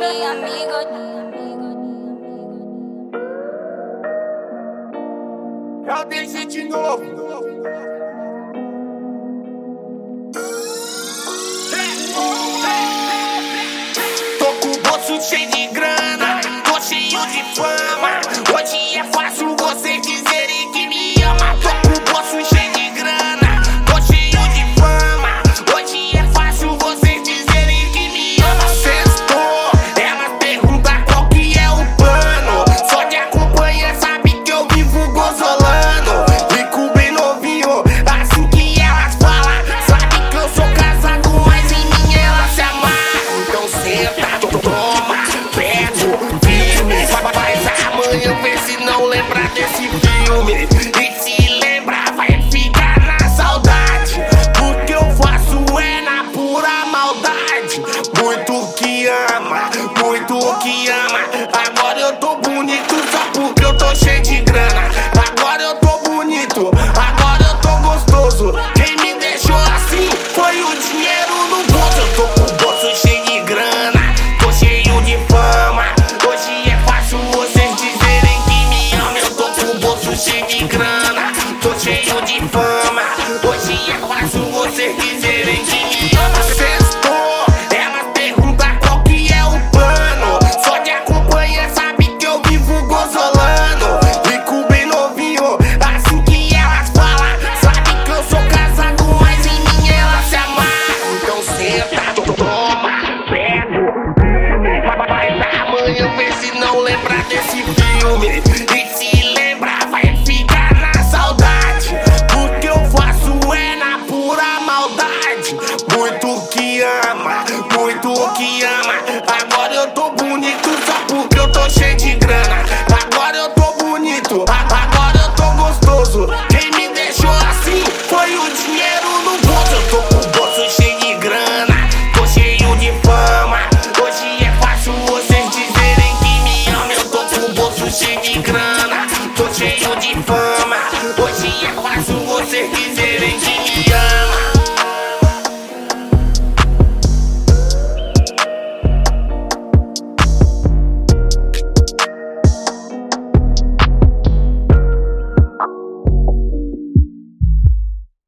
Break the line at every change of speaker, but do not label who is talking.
de amigo.
Eu deixei de novo. Tô com o bolso cheio de grana, tô cheio de fama. Hoje é fácil vocês dizerem que me ama. Tô com o bolso cheio de grana, tô cheio de fama. Hoje é fácil vocês dizerem que me ama. Sextou, ela pergunta qual que é o plano. Só de acompanhar sabe que eu vivo gozolando. Fico bem novinho, assim que elas falam. Sabe que eu sou casado, mas em mim elas se amarram. Então senta, toma, pego, firme. Faz amanhã ver se não lembra desse filme. E se lembrar vai ficar na saudade. Porque eu faço é na pura maldade. Muito que ama, muito que ama. Agora eu tô bonito só porque eu tô cheio de grana. Agora eu tô bonito, agora eu tô gostoso. Quem me deixou assim foi o dinheiro no bolso. Eu tô com o bolso cheio de grana, tô cheio de fama. Hoje é fácil vocês dizerem que me amam. Eu tô com o bolso cheio de grana, tô cheio de fama. Hoje é fácil vocês dizerem que me amam. Sextou, ela pergunta qual que é o plano. Só de acompanhar sabe que eu vivo gozolando. Fico bem novinho, assim que elas falam. Sabe que eu sou casado, mas em mim elas se amarram. Então senta, toma, pego, vai amanhã ver se não lembrar desse filme. E se lembrar vai ficar na saudade. Porque eu faço é na pura maldade. Muito que ama, muito que ama. Agora eu tô bonito só porque eu tô cheio de grana. Agora eu tô bonito, agora eu tô gostoso. Quem me deixou assim foi o dinheiro no bolso. Eu tô com o bolso cheio de grana, tô cheio de fama. Hoje é fácil vocês dizerem que me amam. Eu tô com o bolso cheio de grana, tô cheio